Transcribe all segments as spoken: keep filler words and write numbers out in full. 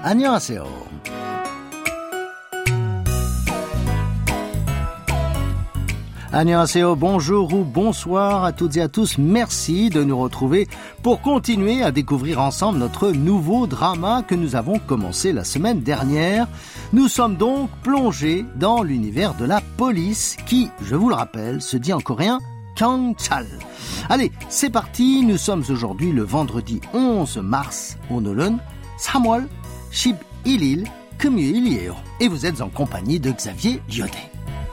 안녕하세요. Annyeonghaseyo, bonjour ou bonsoir à toutes et à tous. Merci de nous retrouver pour continuer à découvrir ensemble notre nouveau drama que nous avons commencé la semaine dernière. Nous sommes donc plongés dans l'univers de la police qui, je vous le rappelle, se dit en coréen 경찰. Allez, c'est parti. Nous sommes aujourd'hui le vendredi onze mars. 오늘은 삼월 십일일 금요일이에요. Et vous êtes en compagnie de Xavier Lyodet.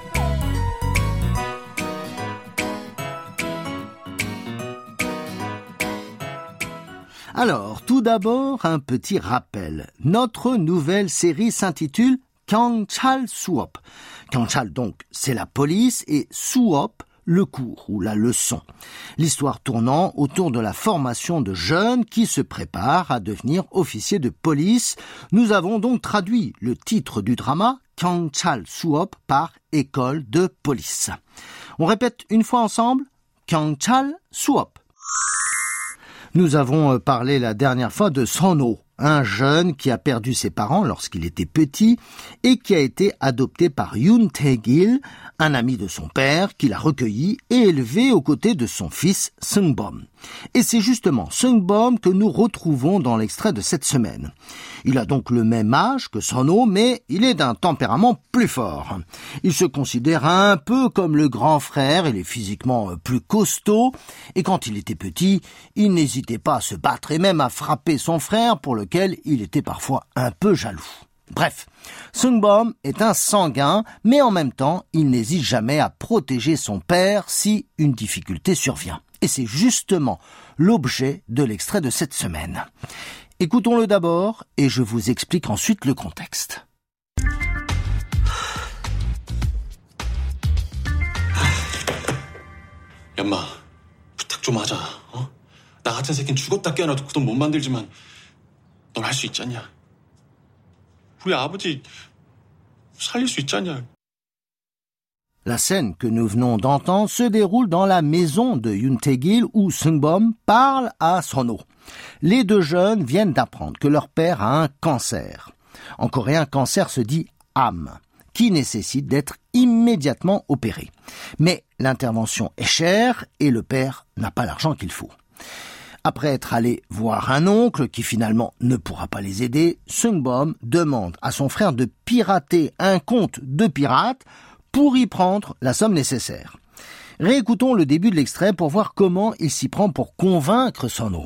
Alors, tout d'abord, un petit rappel. Notre nouvelle série s'intitule 경찰 수업. 경찰, donc, c'est la police, et 수업, le cours ou la leçon. L'histoire tournant autour de la formation de jeunes qui se préparent à devenir officiers de police. Nous avons donc traduit le titre du drama 경찰 수업 par école de police. On répète une fois ensemble 경찰 수업. Nous avons parlé la dernière fois de Son-ho, un jeune qui a perdu ses parents lorsqu'il était petit et qui a été adopté par Yoon Tae-gil, un ami de son père, qui l'a recueilli et élevé aux côtés de son fils Seung-bom. Et c'est justement Seung-bom que nous retrouvons dans l'extrait de cette semaine. Il a donc le même âge que Son-ho, mais il est d'un tempérament plus fort. Il se considère un peu comme le grand frère, il est physiquement plus costaud, et quand il était petit, il n'hésitait pas à se battre et même à frapper son frère, pour lequel il était parfois un peu jaloux. Bref, Seung-bom est un sanguin, mais en même temps, il n'hésite jamais à protéger son père si une difficulté survient. Et c'est justement l'objet de l'extrait de cette semaine. Écoutons-le d'abord et je vous explique ensuite le contexte. 얌마, 부탁 좀 하자. 어? 나 같은 새끼는 죽었다 깨어나도 그 돈 못 만들지만 넌 할 수 있지 않냐? 우리 아버지 살릴 수 있지 않냐? La scène que nous venons d'entendre se déroule dans la maison de Yoon Tae-gil où Seung-bom parle à Son-ho. Les deux jeunes viennent d'apprendre que leur père a un cancer. En coréen, cancer se dit am, qui nécessite d'être immédiatement opéré. Mais l'intervention est chère et le père n'a pas l'argent qu'il faut. Après être allé voir un oncle qui finalement ne pourra pas les aider, Seung-bom demande à son frère de pirater un compte de pirate pour y prendre la somme nécessaire. Réécoutons le début de l'extrait pour voir comment il s'y prend pour convaincre Son-ho.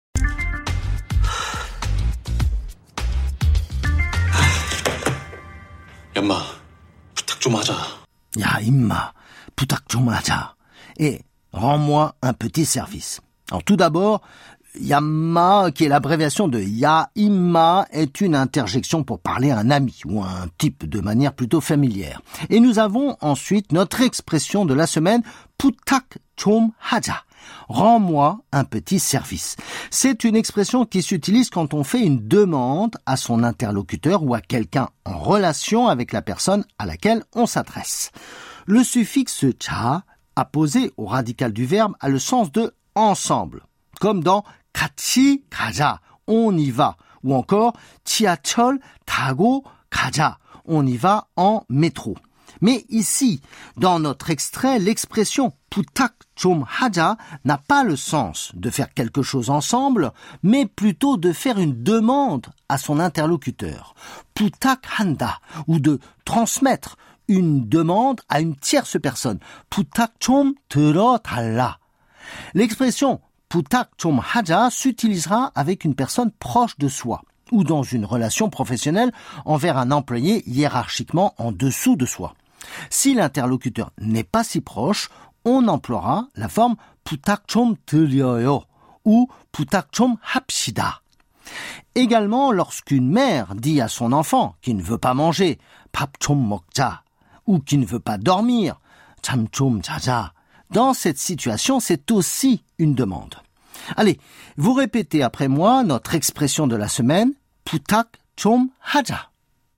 얌마, 부탁 좀 하자. 야, 임마, 부탁 좀 하자. Et rends-moi un petit service. Alors tout d'abord, Yamma, qui est l'abréviation de Ya Imma, est une interjection pour parler à un ami ou à un type de manière plutôt familière. Et nous avons ensuite notre expression de la semaine, 부탁 좀 하자. Rends-moi un petit service. C'est une expression qui s'utilise quand on fait une demande à son interlocuteur ou à quelqu'un en relation avec la personne à laquelle on s'adresse. Le suffixe 자, apposé au radical du verbe, a le sens de ensemble, comme dans 같이 가자, on y va, ou encore 지하철 타고 가자, on y va en métro. Mais ici, dans notre extrait, l'expression 부탁 좀 하자 n'a pas le sens de faire quelque chose ensemble, mais plutôt de faire une demande à son interlocuteur. 부탁한다, ou de transmettre une demande à une tierce personne. 부탁 좀 들어달라. L'expression 부탁 좀 하자 s'utilisera avec une personne proche de soi ou dans une relation professionnelle envers un employé hiérarchiquement en dessous de soi. Si l'interlocuteur n'est pas si proche, on emploiera la forme 부탁 좀 드려요 ou 부탁 좀 합시다. Également, lorsqu'une mère dit à son enfant qui ne veut pas manger 밥 좀 먹자 ou qui ne veut pas dormir 잠 좀 자자, dans cette situation, c'est aussi une demande. Allez, vous répétez après moi notre expression de la semaine, 부탁 좀 하자.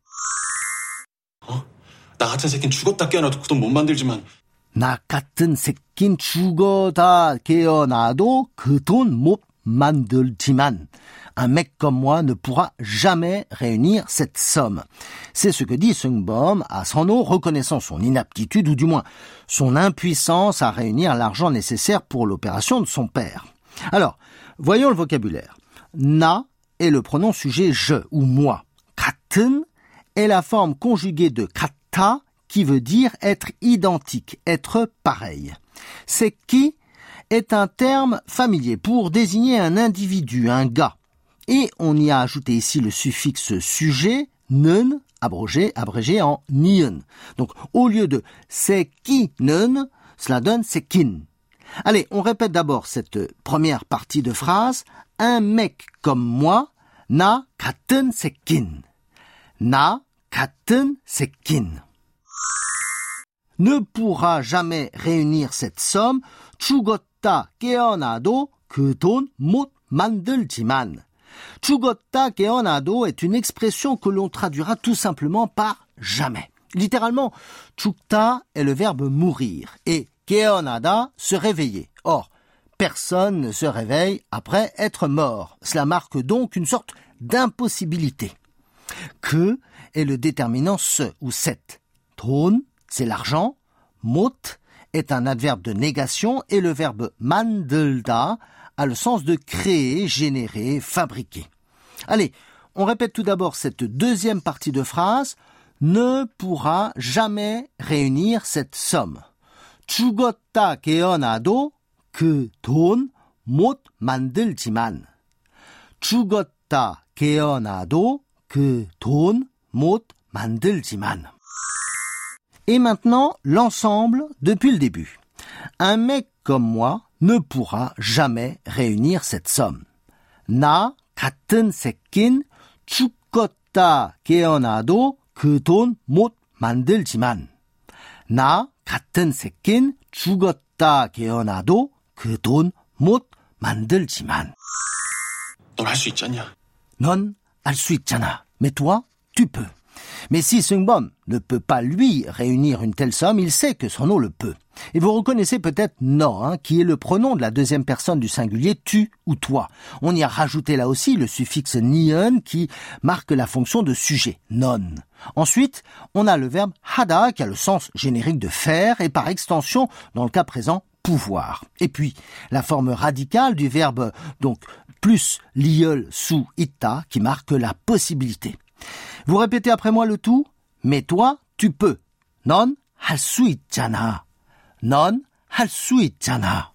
어? 나 같은 새끼는 죽었다 깨어나도 그 돈 못 만들지만 나 같은 새낀 죽어다 깨어나도 그 돈 못 만들지만 Un mec comme moi ne pourra jamais réunir cette somme. C'est ce que dit Seung-bom à San-ho, reconnaissant son inaptitude ou du moins son impuissance à réunir l'argent nécessaire pour l'opération de son père. Alors, voyons le vocabulaire. Na est le pronom sujet je ou moi. 같은 est la forme conjuguée de 같다 qui veut dire être identique, être pareil. 새끼 est un terme familier pour désigner un individu, un gars. Et on y a ajouté ici le suffixe sujet, 는, abrégé, abrégé en ni은. Donc, au lieu de 새끼는, cela donne 새낀. Allez, on répète d'abord cette première partie de phrase. Un mec comme moi, 나 같은 새낀. 나 같은 새낀. Ne pourra jamais réunir cette somme. 죽었다 깨어나도 그 돈 못 만들지만. 죽었다 깨어나도 est une expression que l'on traduira tout simplement par jamais. Littéralement, 죽다 est le verbe mourir et 깨어나다 se réveiller. Or, personne ne se réveille après être mort. Cela marque donc une sorte d'impossibilité. Que est le déterminant ce ou cette. 돈, c'est l'argent. 못 est un adverbe de négation et le verbe 만들다 a le sens de créer, générer, fabriquer. Allez, on répète tout d'abord cette deuxième partie de phrase. Ne pourra jamais réunir cette somme. 죽었다 깨어나도 그 돈 못 만들지만. 죽었다 깨어나도 그 돈 못 만들지만. Et maintenant, l'ensemble depuis le début. Un mec comme moi ne pourra jamais réunir cette somme. 나 같은 새낀 죽었다 깨어나도 그 돈 못 만들지만. 나 같은 새낀 죽었다 깨어나도 그 돈 못 만들지만. 넌 할 수 있잖냐? 넌 할 수 있잖아. Mais toi, tu peux. Mais si Seung-bom ne peut pas, lui, réunir une telle somme, il sait que San-ho le peut. Et vous reconnaissez peut-être no, hein, qui est le pronom de la deuxième personne du singulier tu ou toi. On y a rajouté là aussi le suffixe ni은 qui marque la fonction de sujet, non. Ensuite, on a le verbe hada qui a le sens générique de faire et par extension, dans le cas présent, pouvoir. Et puis, la forme radicale du verbe, donc, plus liöl sous ita qui marque la possibilité. Vous répétez après moi le tout. Mais toi, tu peux. 넌 할 수 있잖아. 넌 할 수 있잖아.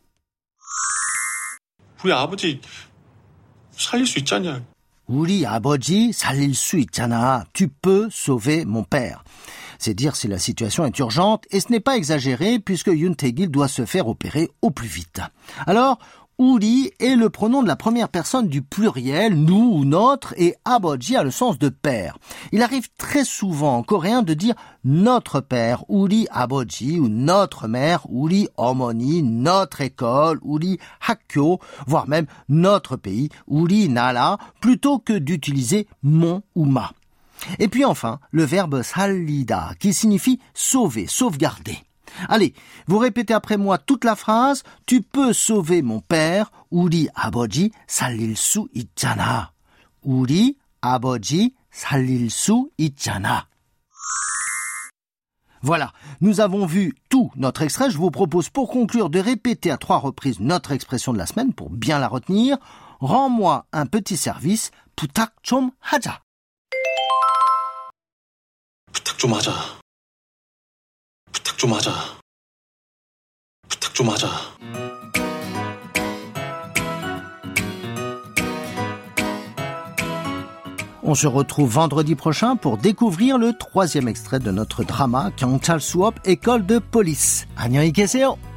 우리 아버지 살릴 수 있잖냐? 우리 아버지 살릴 수 있잖아. Tu peux sauver mon père. C'est dire si la situation est urgente et ce n'est pas exagéré puisque Yoon Tae-gil doit se faire opérer au plus vite. Alors, 우리 est le pronom de la première personne du pluriel, nous ou notre, et 아버지 a le sens de père. Il arrive très souvent en coréen de dire notre père, 우리 아버지, ou notre mère, 우리 어머니, notre école, 우리 학교, voire même notre pays, 우리 나라, plutôt que d'utiliser mon ou ma. Et puis enfin, le verbe 살리다, qui signifie sauver, sauvegarder. Allez, vous répétez après moi toute la phrase. Tu peux sauver mon père. 우리 아버지 살릴 수 있잖아. 우리 아버지 살릴 수 있잖아. Voilà, nous avons vu tout notre extrait. Je vous propose pour conclure de répéter à trois reprises notre expression de la semaine pour bien la retenir. Rends-moi un petit service. 부탁 좀 하자. 부탁 좀 하자. 부탁 좀 하자. 부탁 좀 하자. On se retrouve vendredi prochain pour découvrir le troisième extrait de notre drama 경찰 수업 école de police. 안녕히 계세요.